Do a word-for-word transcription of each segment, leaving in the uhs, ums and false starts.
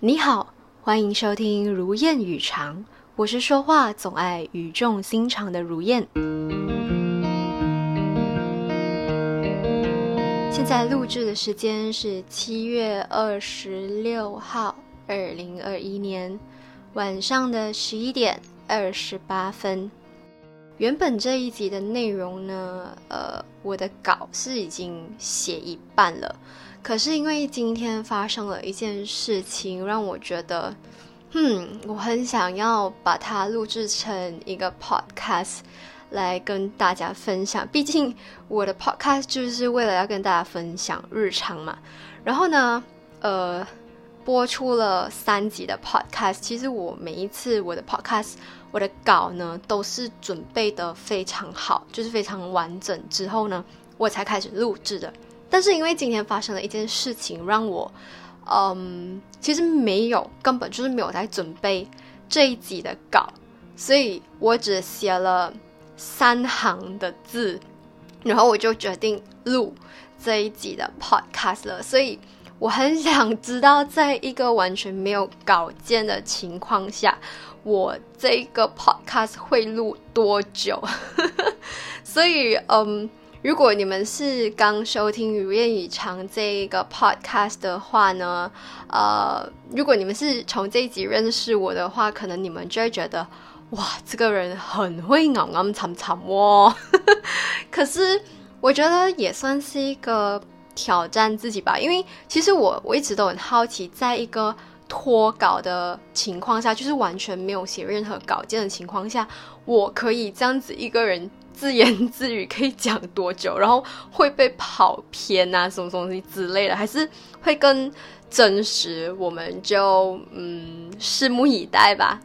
你好，欢迎收听如燕语长，我是说话总爱语重心长的如燕。现在录制的时间是七月二十六号，二零二一年晚上的十一点二十八分。原本这一集的内容呢，呃，我的稿是已经写一半了，可是因为今天发生了一件事情，让我觉得，嗯，我很想要把它录制成一个 podcast 来跟大家分享。毕竟我的 podcast 就是为了要跟大家分享日常嘛。然后呢，呃，播出了三集的 podcast， 其实我每一次我的 podcast。我的稿呢都是准备的非常好，就是非常完整之后呢我才开始录制的。但是因为今天发生了一件事情，让我嗯，其实没有根本就是没有在准备这一集的稿，所以我只写了三行的字，然后我就决定录这一集的 podcast 了。所以我很想知道在一个完全没有稿件的情况下，我这个 podcast 会录多久所以嗯，如果你们是刚收听如燕语长这个 podcast 的话呢，呃，如果你们是从这一集认识我的话，可能你们就会觉得哇，这个人很会咬咬惨惨哦可是我觉得也算是一个挑战自己吧，因为其实我我一直都很好奇，在一个脱稿的情况下，就是完全没有写任何稿件的情况下，我可以这样子一个人自言自语可以讲多久，然后会被跑偏啊什么东西之类的，还是会更真实，我们就嗯拭目以待吧。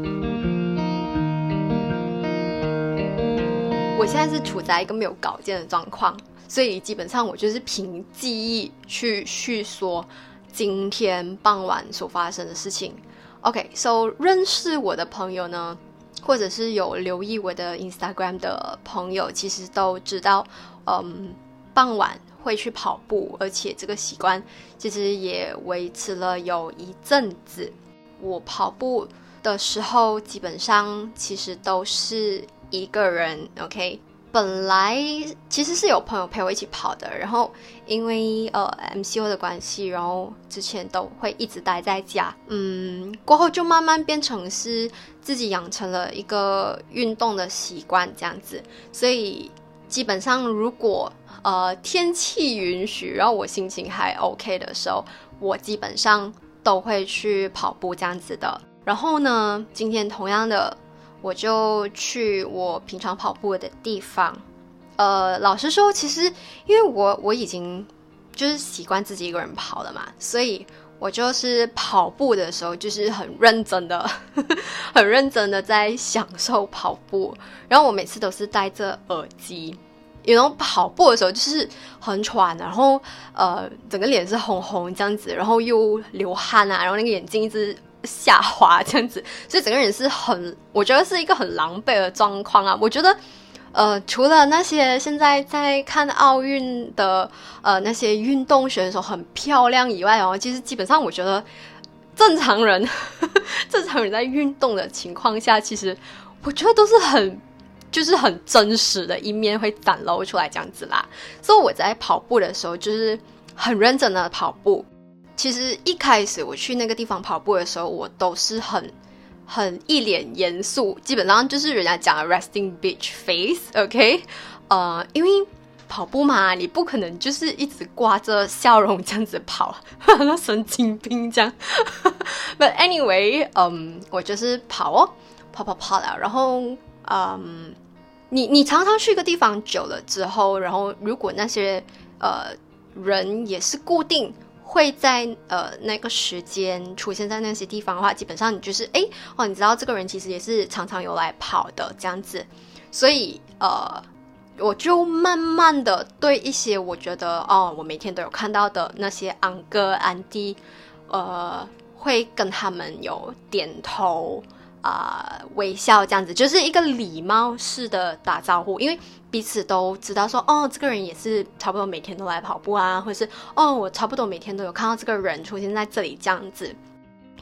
我现在是处在一个没有稿件的状况，所以基本上我就是凭记忆去叙说今天傍晚所发生的事情。 OK， so 认识我的朋友呢，或者是有留意我的 Instagram 的朋友，其实都知道嗯，傍晚会去跑步，而且这个习惯其实也维持了有一阵子。我跑步的时候基本上其实都是一个人 OK，本来其实是有朋友陪我一起跑的，然后因为呃 M C O 的关系，然后之前都会一直待在家，嗯，过后就慢慢变成是自己养成了一个运动的习惯这样子。所以基本上如果呃天气允许，然后我心情还 OK 的时候，我基本上都会去跑步这样子的。然后呢，今天同样的我就去我平常跑步的地方。呃，老实说，其实因为我我已经就是习惯自己一个人跑了嘛，所以我就是跑步的时候就是很认真的很认真的在享受跑步。然后我每次都是戴着耳机，然后跑步的时候就是很喘，然后呃整个脸是红红这样子，然后又流汗啊，然后那个眼睛一直下滑这样子，所以整个人是很，我觉得是一个很狼狈的状况啊。我觉得呃，除了那些现在在看奥运的呃那些运动选手很漂亮以外哦，其实基本上我觉得正常人正常人在运动的情况下，其实我觉得都是很就是很真实的一面会展露出来这样子啦。所以我在跑步的时候就是很认真的跑步。其实一开始我去那个地方跑步的时候，我都是很很一脸严肃，基本上就是人家讲的 resting bitch face OK， 呃，因为跑步嘛，你不可能就是一直挂着笑容这样子跑那神经病这样But anyway， 嗯，我就是跑哦跑跑跑了。然后嗯，你你常常去一个地方久了之后，然后如果那些呃人也是固定会在呃那个时间出现在那些地方的话，基本上你就是诶哦，你知道这个人其实也是常常有来跑的这样子。所以呃我就慢慢的对一些我觉得哦我每天都有看到的那些安哥安弟呃会跟他们有点头啊、呃、微笑这样子，就是一个礼貌式的打招呼。因为彼此都知道说哦这个人也是差不多每天都来跑步啊，或者是哦我差不多每天都有看到这个人出现在这里这样子。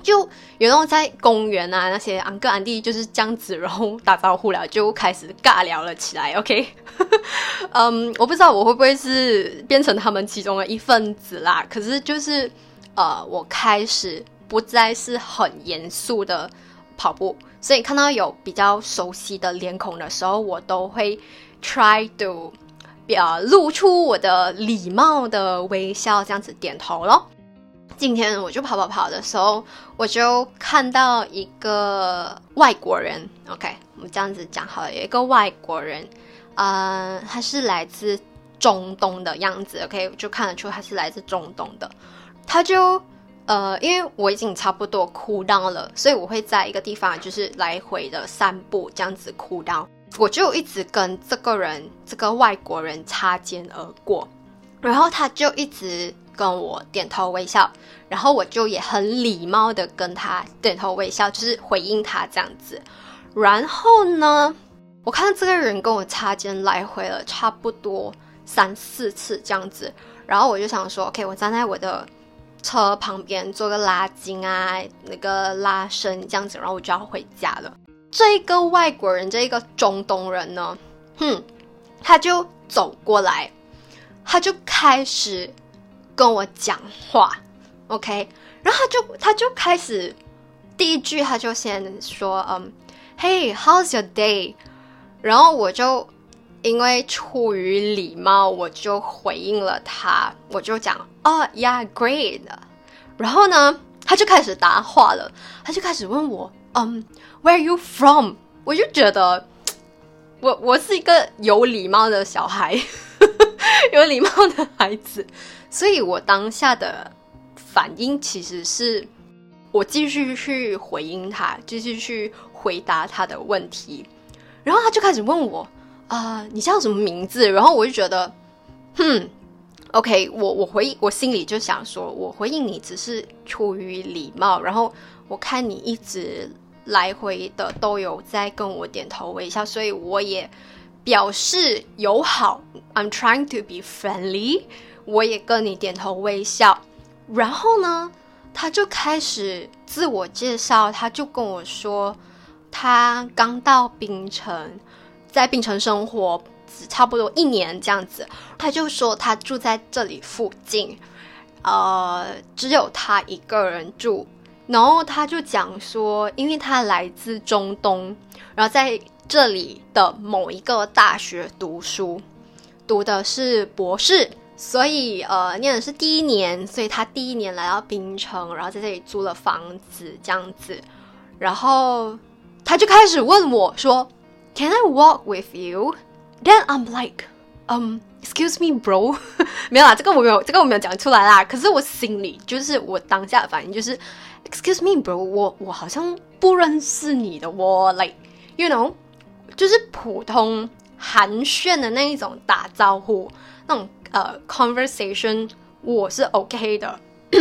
就有那种在公园啊，那些安哥安弟就是这样子，然后打招呼了，就开始尬聊了起来。OK， 嗯，我不知道我会不会是变成他们其中的一份子啦。可是就是呃，我开始不再是很严肃的跑步，所以看到有比较熟悉的脸孔的时候，我都会 try to 呃露出我的礼貌的微笑，这样子点头咯。今天我就跑跑跑的时候，我就看到一个外国人 OK， 我们这样子讲好了，有一个外国人呃，他是来自中东的样子 OK， 我就看得出他是来自中东的。他就呃，因为我已经差不多cool down了，所以我会在一个地方就是来回的散步，这样子cool down。我就一直跟这个人这个外国人擦肩而过，然后他就一直跟我点头微笑，然后我就也很礼貌的跟他点头微笑，就是回应他这样子。然后呢，我看到这个人跟我擦肩来回了差不多三四次这样子，然后我就想说 OK， 我站在我的车旁边做个拉筋啊，那个拉伸这样子，然后我就要回家了。这个外国人，这个中东人呢，哼，他就走过来，他就开始跟我讲话 OK， 然后他就他就开始第一句他就先说嗯 Hey how's your day， 然后我就因为出于礼貌我就回应了他，我就讲哦、oh, yeah great， 然后呢他就开始答话了，他就开始问我嗯 Where are you from， 我就觉得我我是一个有礼貌的小孩有礼貌的孩子，所以我当下的反应其实是我继续去回应他，继续去回答他的问题。然后他就开始问我啊、呃，你叫什么名字？然后我就觉得哼 OK， 我我回我心里就想说，我回应你只是出于礼貌，然后我看你一直来回的都有在跟我点头微笑，所以我也表示友好 I'm trying to be friendly， 我也跟你点头微笑。然后呢他就开始自我介绍，他就跟我说他刚到槟城，在槟城生活差不多一年这样子，他就说他住在这里附近，呃，只有他一个人住。然后他就讲说因为他来自中东，然后在这里的某一个大学读书，读的是博士，所以呃念的是第一年，所以他第一年来到槟城，然后在这里租了房子这样子。然后他就开始问我说 Can I walk with you? Then I'm like um excuse me bro 没有啦，这个我没有这个我没有讲出来啦，可是我心里就是我当下的反应就是 excuse me bro 我我好像不认识你的，我 like you know 就是普通寒暄的那一种打招呼那种呃 conversation 我是 OK 的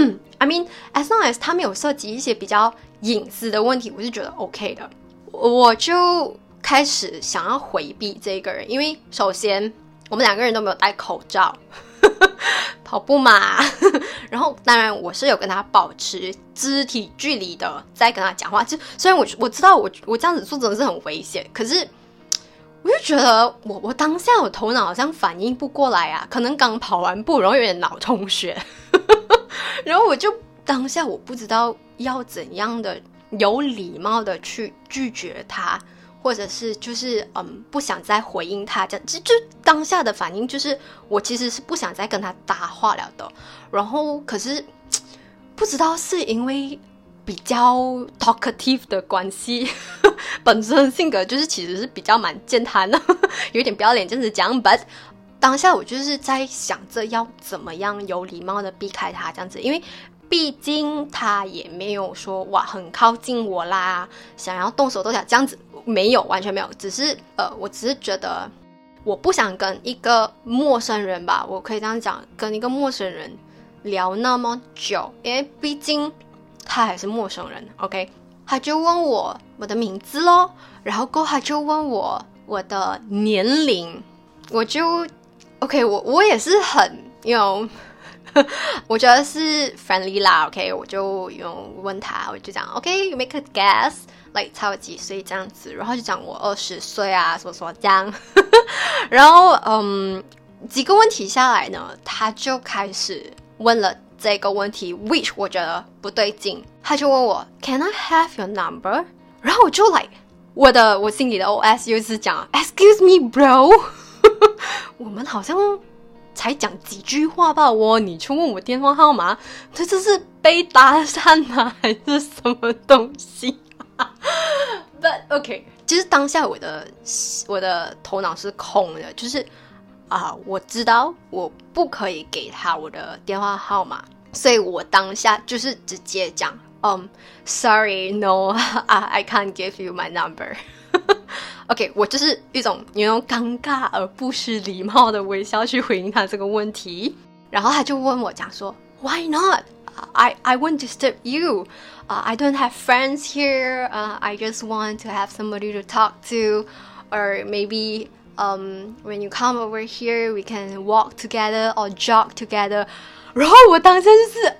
I mean as long as 他没有涉及一些比较隐私的问题，我是觉得 OK 的。我就开始想要回避这个人，因为首先我们两个人都没有戴口罩跑步嘛然后当然我是有跟他保持肢体距离的在跟他讲话，就虽然我我知道我我这样子做真的是很危险，可是我就觉得我我当下我头脑好像反应不过来啊，可能刚跑完步然后有点脑充血然后我就当下我不知道要怎样的有礼貌的去拒绝他，或者是就是嗯不想再回应他，这样就就当下的反应就是我其实是不想再跟他搭话了的。然后可是不知道是因为比较 talkative 的关系本身性格就是其实是比较蛮健谈的有点不要脸这样子讲 but 当下我就是在想着要怎么样有礼貌的避开他这样子，因为毕竟他也没有说哇很靠近我啦，想要动手动脚这样子，没有，完全没有，只是呃，我只是觉得我不想跟一个陌生人吧，我可以这样讲，跟一个陌生人聊那么久，因为毕竟他还是陌生人 OK， 他就问我我的名字咯，然后过后他就问我我的年龄，我就 OK 我我也是很 you know 我觉得是 friendly 啦 OK 我就用问他，我就讲 OK you make a guess like 猜我几岁这样子，然后就讲我二十岁啊什么什么这样然后嗯几个问题下来呢，他就开始问了这个问题 which 我觉得不对劲，他就问我 Can I have your number， 然后我就 like 我的我心里的 O S 又是讲 Excuse me bro 我们好像才讲几句话吧，我你去问我电话号码，这这是被搭讪吗还是什么东西But OK 其实当下我的我的头脑是空的，就是啊，我知道我不可以给他我的电话号码，所以我当下就是直接讲Um, sorry, no, I, I can't give you my number. OK, 我就是一种有那种尴尬而不失礼貌的微笑去回应他这个问题。然后他就问我讲说 Why not? I, I won't disturb you. Uh, I don't have friends here. Uh, I just want to have somebody to talk to. Or maybe um, when you come over here, we can walk together or jog together. 然后我当下就是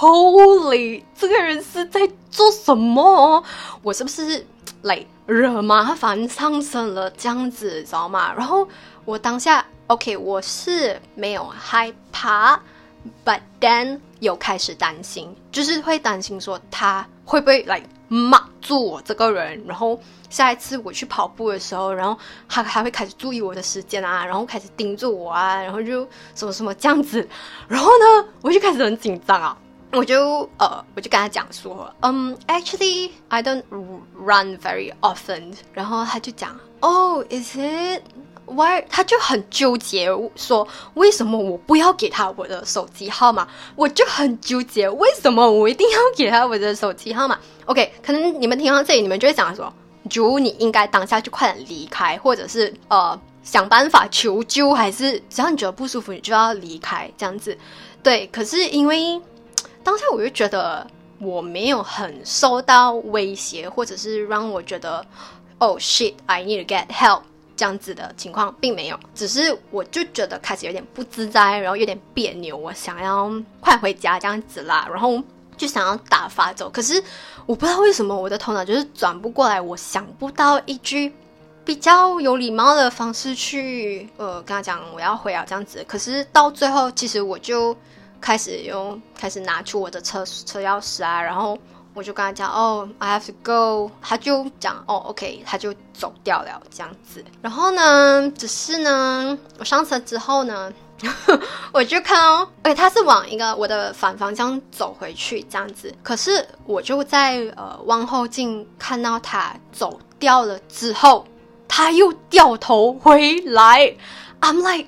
Holy 这个人是在做什么，我是不是 like 惹麻烦上身了这样子知道吗？然后我当下 OK 我是没有害怕 but then 有开始担心，就是会担心说他会不会 like 骂住我这个人，然后下一次我去跑步的时候，然后他还会开始注意我的时间啊，然后开始盯住我啊，然后就什么什么这样子，然后呢我就开始很紧张啊，我就呃我就跟他讲说嗯、um, actually I don't run very often， 然后他就讲 Oh is it Why 他就很纠结说为什么我不要给他我的手机号码，我就很纠结为什么我一定要给他我的手机号码。 OK 可能你们听到这里你们就会讲说如你应该当下就快点离开，或者是呃想办法求救，还是只要你觉得不舒服你就要离开这样子。对，可是因为当下我就觉得我没有很受到威胁，或者是让我觉得 Oh shit I need to get help这样子的情况并没有，只是我就觉得开始有点不自在，然后有点别扭，我想要快回家这样子啦，然后就想要打发走，可是我不知道为什么我的头脑就是转不过来，我想不到一句比较有礼貌的方式去呃跟他讲我要回啊这样子。可是到最后其实我就开始用开始拿出我的车车钥匙啊，然后我就跟他讲哦 I have to go， 他就讲哦 OK， 他就走掉了这样子。然后呢只是呢我上车之后呢我就看哦，而且他是往一个我的反方向走回去这样子，可是我就在呃望后镜看到他走掉了之后，他又掉头回来。 I'm like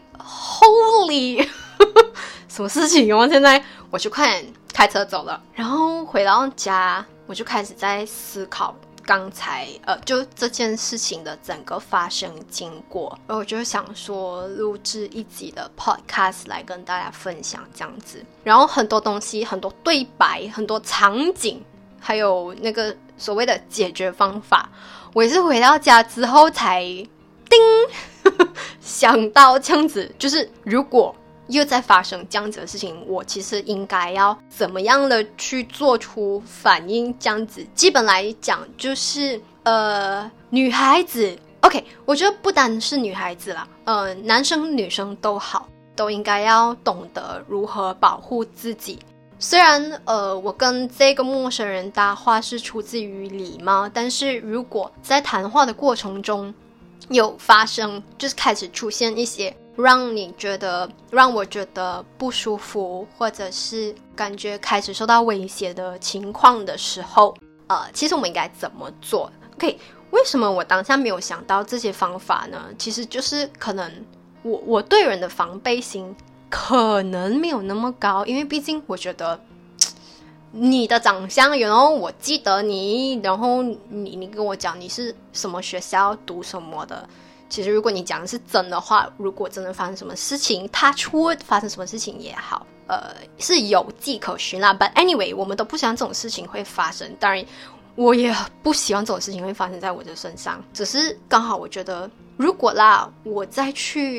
holy 什么事情哦？现在我就快点开车走了，然后回到家我就开始在思考刚才呃，就这件事情的整个发生经过，然后我就想说录制一集的 podcast 来跟大家分享这样子。然后很多东西，很多对白，很多场景，还有那个所谓的解决方法，我也是回到家之后才叮想到这样子，就是如果又在发生这样子的事情，我其实应该要怎么样的去做出反应这样子。基本来讲就是呃，女孩子 OK 我觉得不单是女孩子啦，呃，男生女生都好，都应该要懂得如何保护自己。虽然呃，我跟这个陌生人搭话是出自于礼貌，但是如果在谈话的过程中有发生就是开始出现一些让你觉得让我觉得不舒服，或者是感觉开始受到威胁的情况的时候，呃，其实我们应该怎么做 OK 为什么我当下没有想到这些方法呢？其实就是可能我我对人的防备心可能没有那么高，因为毕竟我觉得你的长相，然后我记得你，然后你你跟我讲你是什么学校读什么的，其实如果你讲的是真的话，如果真的发生什么事情 touch wood 发生什么事情也好，呃，是有迹可循啦。 But anyway 我们都不希望这种事情会发生，当然我也不希望这种事情会发生在我的身上，只是刚好我觉得如果啦我再去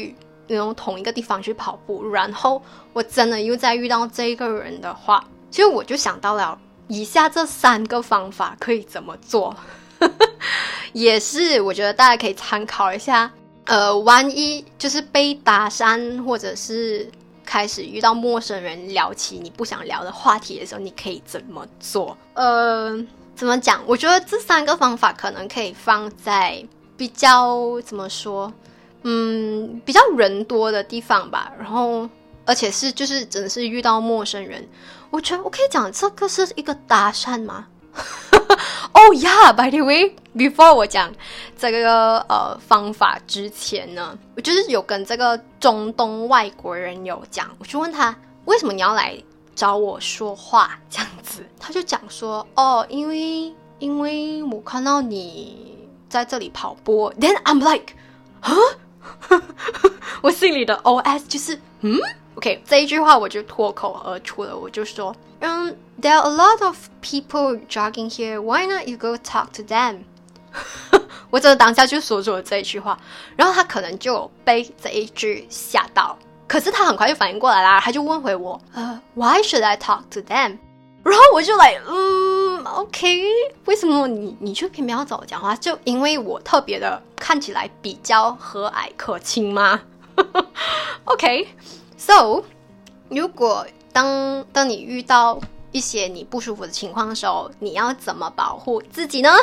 那种同一个地方去跑步，然后我真的又再遇到这个人的话，其实我就想到了以下这三个方法可以怎么做。也是我觉得大家可以参考一下，呃，万一就是被搭讪或者是开始遇到陌生人聊起你不想聊的话题的时候，你可以怎么做。呃，怎么讲，我觉得这三个方法可能可以放在比较怎么说嗯，比较人多的地方吧，然后而且是就是真的是遇到陌生人，我觉得我可以讲这个是一个搭讪吗？Oh yeah, by the way, before 我讲这个呃方法之前呢，我就是有跟这个中东外国人有讲，我就问他为什么你要来找我说话这样子，他就讲说哦，因为因为我看到你在这里跑步。 Then I'm like huh? 我心里的 O S 就是嗯 OK， 这一句话我就脱口而出了，我就说嗯 There are a lot of people jogging here, why not you go talk to them? 我真的当下就说出了这一句话，然后他可能就被这一句吓到，可是他很快就反应过来啦，他就问回我呃 Why should I talk to them? 然后我就来嗯 OK， 为什么你你就偏偏要找我讲话？就因为我特别的看起来比较和蔼可亲吗？ OK So 如果当当你遇到一些你不舒服的情况的时候，你要怎么保护自己呢？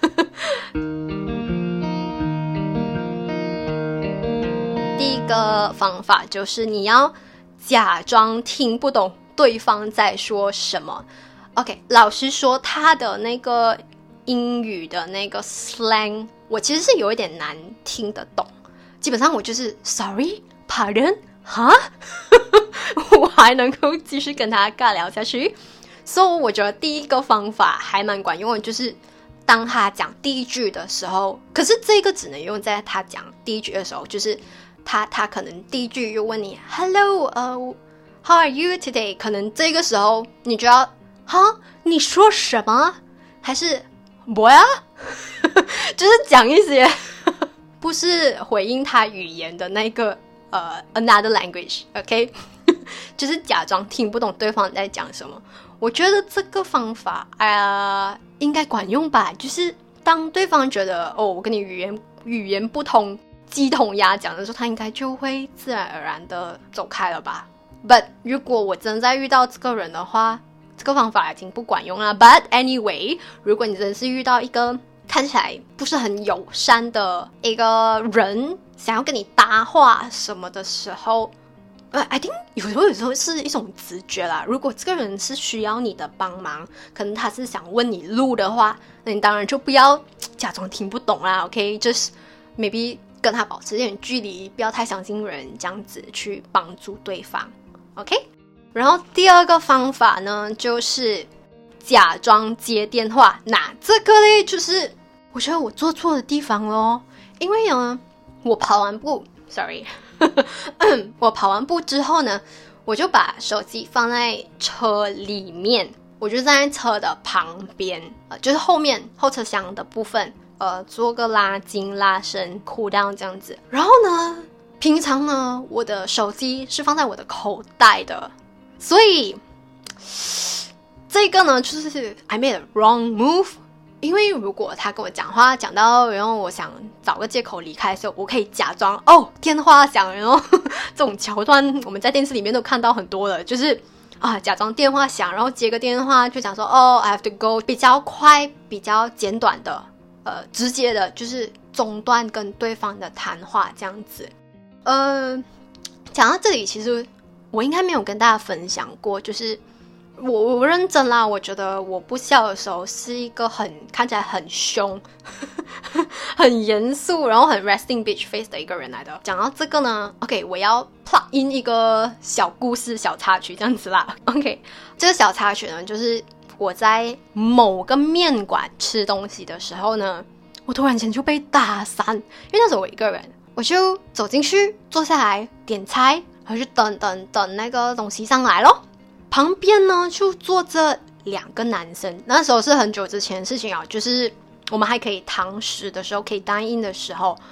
第一个方法就是你要假装听不懂对方在说什么。 OK， 老实说他的那个英语的那个 slang 我其实是有一点难听得懂，基本上我就是 sorry pardon 哈我还能够继续跟他尬聊下去。所以我觉得第一个方法还蛮管用的，就是当他讲第一句的时候，可是这个只能用在他讲第一句的时候，就是他他可能第一句又问你 Hello、uh, How are you today？ 可能这个时候你就要哈你说什么？还是我呀？就是讲一些不是回应他语言的那个呃 another language OK 就是假装听不懂对方在讲什么。我觉得这个方法呃应该管用吧，就是当对方觉得哦我跟你语言语言不通鸡同鸭讲的时候，他应该就会自然而然的走开了吧。 But 如果我真在遇到这个人的话，这个方法已经不管用了。 But anyway， 如果你真是遇到一个看起来不是很友善的一个人想要跟你搭话什么的时候，呃 I think 有时候有时候是一种直觉啦。如果这个人是需要你的帮忙，可能他是想问你路的话，那你当然就不要假装听不懂啦 OK， just maybe 跟他保持一点距离，不要太相信人，这样子去帮助对方 OK。 然后第二个方法呢，就是假装接电话。那这个呢，就是我觉得我做错的地方咯，因为呢我跑完步 sorry 我跑完步之后呢，我就把手机放在车里面，我就站在车的旁边、呃、就是后面后车厢的部分，呃，做个拉筋拉伸 cool down 这样子。然后呢平常呢我的手机是放在我的口袋的，所以这个呢就是 I made a wrong move。 因为如果他跟我讲话讲到然后我想找个借口离开的时候，我可以假装哦电话响，然后这种桥段我们在电视里面都看到很多了，就是啊假装电话响，然后接个电话就讲说哦 I have to go， 比较快比较简短的呃直接的就是中断跟对方的谈话这样子。呃讲到这里，其实我应该没有跟大家分享过，就是我我认真啦，我觉得我不笑的时候是一个很看起来很凶很严肃然后很 resting bitch face 的一个人来的。讲到这个呢 OK， 我要 plug in 一个小故事小插曲这样子啦 OK， 这个小插曲呢，就是我在某个面馆吃东西的时候呢，我突然间就被打散，因为那时候我一个人，我就走进去坐下来点菜，然后就等等等那个东西上来咯。旁边呢就坐着两个男生，那时候是很久之前的事情啊，就是我们还可以堂食的时候，可以单印的时候。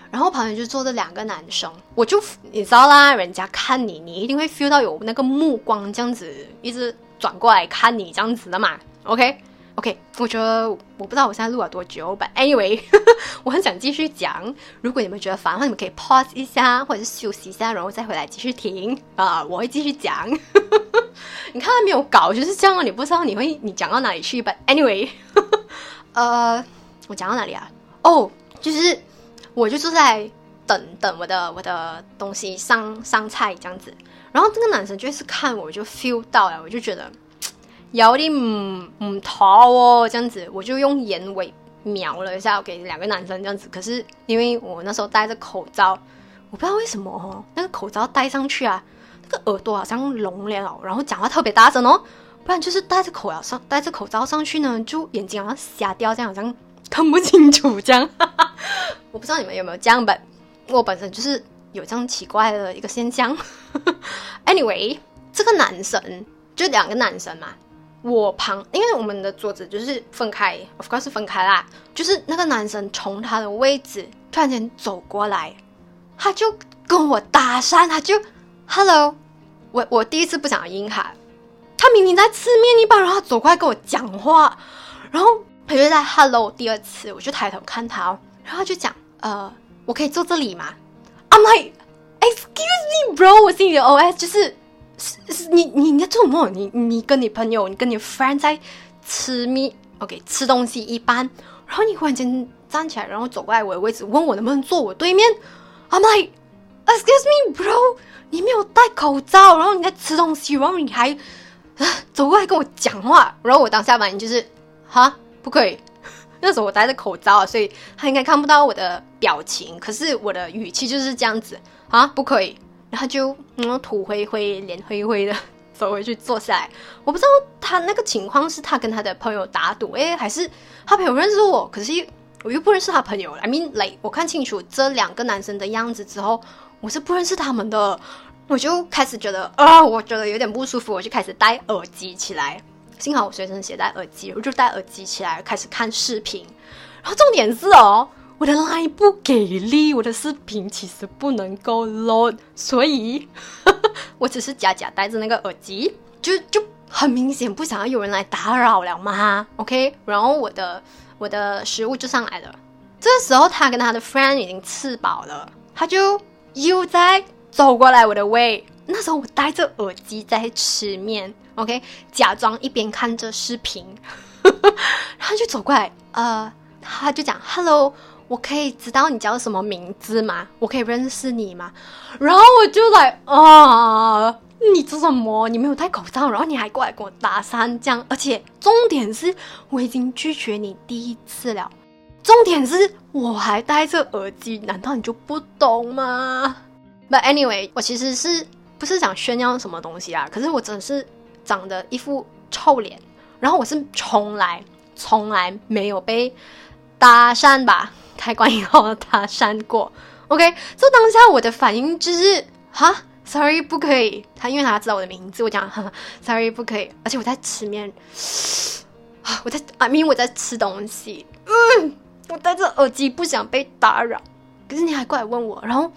然后旁边就坐着两个男生，我就你知道啦，人家看你，你一定会 feel 到有那个目光这样子一直转过来看你这样子的嘛 ，OK OK， 我觉得我不知道我现在录了多久 ，but anyway， 我很想继续讲。如果你们觉得烦的话，你们可以 pause 一下，或者是休息一下，然后再回来继续听啊、呃，我会继续讲。你看没有稿就是这样，你不知道你会你讲到哪里去 ，but anyway， 呃，我讲到哪里啊？哦、oh, ，就是我就坐在等等我的我的东西上上菜这样子，然后这个男生就是看我就 feel 到了，我就觉得有點唔唔妥哦，這樣子我就用眼尾瞄了一下給兩個男生這樣子，可是因為我那時候戴着口罩，我不知道為什麼哦，那個口罩戴上去啊，那個耳朵好像聾了，然後講話特別大聲哦，不然就是戴着口罩上戴着口罩上去呢，就眼睛好像瞎掉，這樣好像看不清楚這樣。我不知道你們有沒有這樣吧，我本身就是有這樣奇怪的一個現象。Anyway， 這個男生就兩個男生嘛。我旁，因為我們的桌子就是分開 of course 是分開啦，就是那個男生從他的位置突然間走過來，他就跟我搭訕，他就 hello， 我我第一次不想要應他，他明明在吃麵一般，然後他走過來跟我講話，然後他就在 hello 第二次，我就抬頭看他，然後他就講呃我可以坐這裡嗎？ I'm like excuse me bro， 我心裡的 O S 就是你你你在做什麼？你你跟你朋友，你跟你 friend 在吃米 ，OK 吃東西一般，然後你忽然間站起來，然後走過來我的位置，問我能不能坐我對面。I'm like excuse me bro， 你沒有戴口罩，然後你在吃東西，然後你還、啊、走過來跟我講話，然後我當下反應就是哈不可以，那時候我戴着口罩，所以他應該看不到我的表情，可是我的語氣就是這樣子啊不可以。然後就嗯土灰灰臉灰灰的走回去坐下來，我不知道他那個情況是他跟他的朋友打賭誒，還是他朋友認識我，可是我又不認識他朋友。I mean like 我看清楚這兩個男生的樣子之後，我是不認識他們的，我就開始覺得啊、呃，我覺得有點不舒服，我就開始戴耳機起來，幸好我隨身攜帶耳機，我就戴耳機起來開始看視頻，然後重點是哦我的 line 不給力，我的視頻其實不能夠 load， 所以呵呵我只是假假戴着那個耳機，就就很明顯不想要有人來打擾了嘛 ，OK？ 然後我的我的食物就上來了，這個時候他跟他的 friend 已經吃飽了，他就又在走過來我的位，那時候我戴着耳機在吃麵 ，OK？ 假裝一邊看着視頻，呵呵然後就走過來，呃，他就講 hello。我可以知道你叫什麼名字嗎？我可以認識你嗎？然後我就來啊，你做什麼？你沒有戴口罩，然後你還過來跟我搭訕，這樣，而且重點是我已經拒絕你第一次了，重點是我還戴着耳機，難道你就不懂嗎？ But anyway， 我其實是不是想炫耀什麼東西啊？可是我真的是長得一副臭臉，然後我是從來從來沒有被搭訕吧。開關以後搭訕過 ，OK， 就當下我的反應就是哈 ，sorry 不可以，他因為他知道我的名字，我講哈 sorry 不可以，而且我在吃麵，我在啊，因為我在吃東西，嗯，我戴着耳機不想被打擾，可是你還過來問我，然後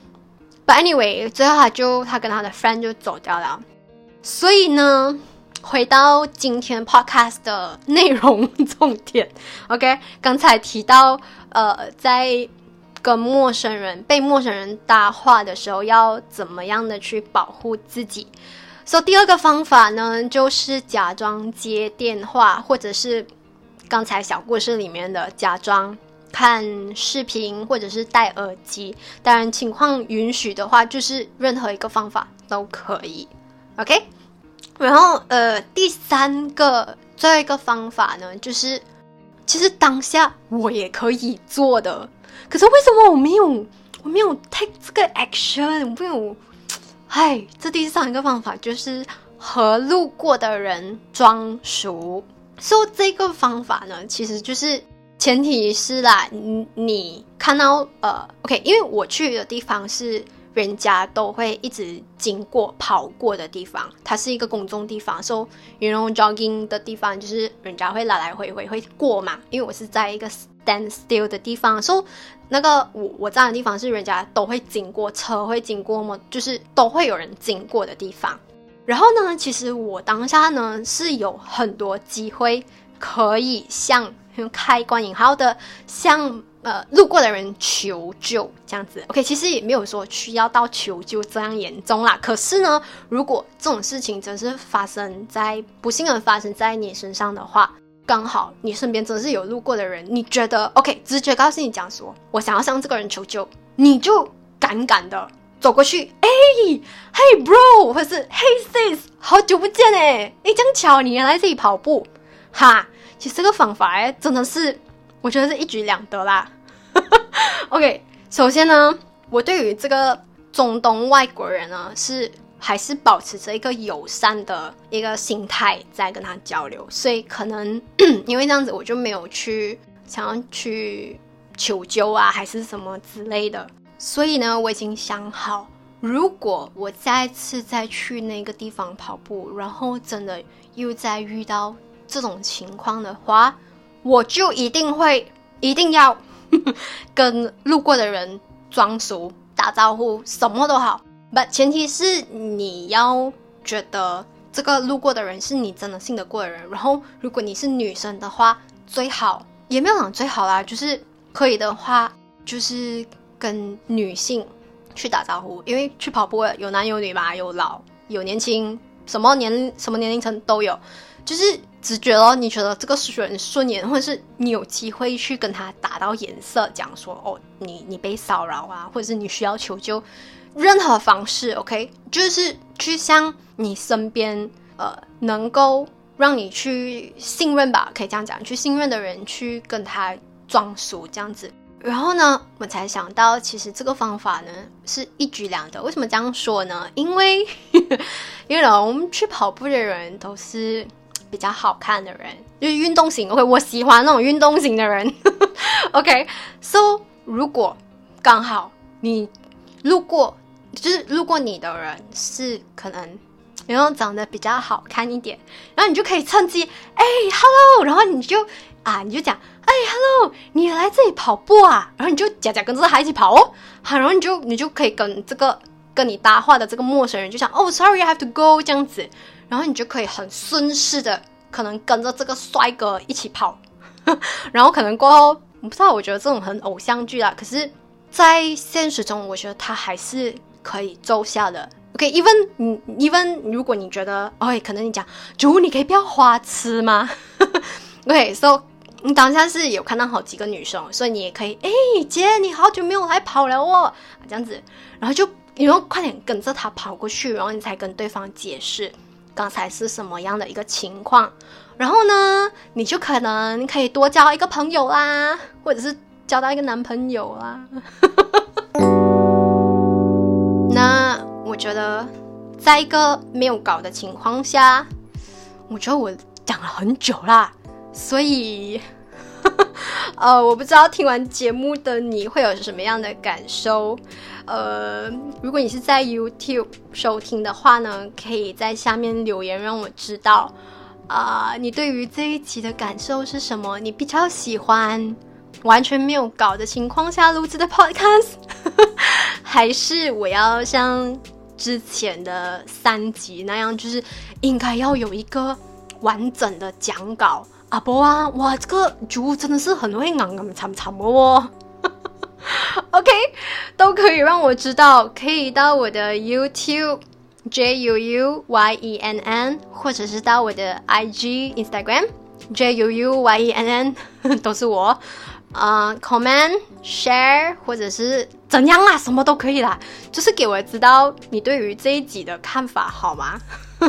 ，but anyway， 最後他就他跟他的 friend 就走掉了，所以呢。回到今天 podcast 的內容重點 ，OK， 剛才提到，呃，在跟陌生人被陌生人搭話的時候，要怎麼樣的去保護自己。所以第二個方法呢，就是假裝接電話，或者是剛才小故事裡面的假裝看視頻，或者是戴耳機。當然情況允許的話，就是任何一個方法都可以 ，OK。然後呃，第三個最後一個方法呢，就是其實當下我也可以做的，可是為什麼我沒有我沒有 take 這個 action， 我沒有，唉，這第三個方法就是和路過的人裝熟。所以這個方法呢，其實就是前提是啦，你你看到呃 ，OK， 因為我去的地方是。人家都會一直經過跑過的地方，它是一個公眾地方，所以 you know jogging 的地方就是人家會來來回回會過嘛，因為我是在一個 stand still 的地方，所以那个我我站的地方是人家都会经过，车会经过嘛，就是都会有人经过的地方。然后呢，其实我当下呢是有很多机会可以向开关引号的向呃路过的人求救这样子。 OK， 其实也没有说需要到求救这样严重啦，可是呢如果这种事情真是发生在不幸的发生在你身上的话，刚好你身边真是有路过的人，你觉得 OK 直觉告诉你讲说我想要向这个人求救，你就敢敢的走过去，哎 ，Hey bro， 或是 Hey sis， 好久不见哎，哎，这样巧你也来这里跑步，哈，其实这个方法哎，真的是我觉得是一举两得啦。OK， 首先呢，我对于这个中东外国人呢，是还是保持着一个友善的一个心态在跟他交流，所以可能因为这样子，我就没有去想要去求救啊，还是什么之类的。所以呢，我已经想好，如果我再次再去那个地方跑步，然后真的又再遇到这种情况的话，我就一定会一定要跟路过的人装熟打招呼，什么都好， but 前提是你要觉得这个路过的人是你真的信得过的人。然后如果你是女生的话，最好也没有讲最好啦，就是可以的话就是跟女性去打招呼，因为去跑步有男有女嘛，有老有年轻，什么年什么年龄层都有，就是直觉咯，你觉得这个人顺眼，或者是你有机会去跟他打到眼色，讲说哦，你你被骚扰啊，或者是你需要求救，任何方式 OK， 就是去向你身边呃能够让你去信任吧，可以这样讲，去信任的人去跟他装熟这样子。然后呢，我才想到其实这个方法呢是一举两得。为什么这样说呢？因为因为我们去跑步的人都是比较好看的人，就是运动型 OK， 我喜欢那种运动型的人OK， so 如果刚好你路过就是路过你的人是可能然后长得比较好看一点，然后你就可以趁机哎 hello， 然后你就啊你就讲哎 hello， 你也来这里跑步啊，然后你就假假跟着他一起跑哦，好，然后你就你就可以跟这个跟你搭话的这个陌生人就讲哦 sorry I have to go 这样子，然后你就可以很顺势的可能跟着这个帅哥一起跑然后可能过后我不知道，我觉得这种很偶像剧啦，可是在现实中我觉得他还是可以奏效的。 OK even even 如果你觉得哦，可能你讲主你可以不要花痴吗OK so 你当下是有看到好几个女生，所以你也可以哎姐你好久没有来跑了哦这样子，然后就你要快点跟着他跑过去，然后你才跟对方解释刚才是什么样的一个情况，然后呢你就可能可以多交一个朋友啦，或者是交到一个男朋友啦那我觉得在一个没有搞的情况下，我觉得我讲了很久啦，所以呃，我不知道听完节目的你会有什么样的感受。呃，如果你是在 YouTube 收听的话呢，可以在下面留言让我知道啊、呃，你对于这一集的感受是什么？你比较喜欢完全没有搞的情况下录制的 podcast 还是我要像之前的三集那样，就是应该要有一个完整的讲稿啊？不啊，哇，这个主真的是很会硬硬长长的哦OK， 都可以让我知道，可以到我的 YouTube J U U Y E N N， 或者是到我的 I G Instagram J U U Y E N N 都是我呃、uh, comment share 或者是怎样啦，什么都可以啦，就是给我知道你对于这一集的看法好吗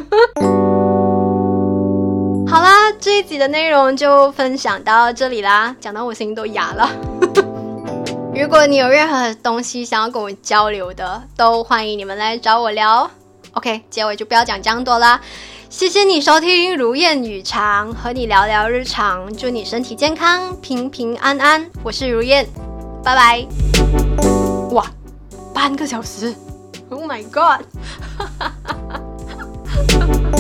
好啦，这一集的内容就分享到这里啦，讲到我声音都哑了如果你有任何东西想要跟我交流的，都欢迎你们来找我聊。 OK， 结尾就不要讲这样多啦，谢谢你收听如燕语常，和你聊聊日常，祝你身体健康平平安安，我是如燕，拜拜。哇，半个小时 Oh my god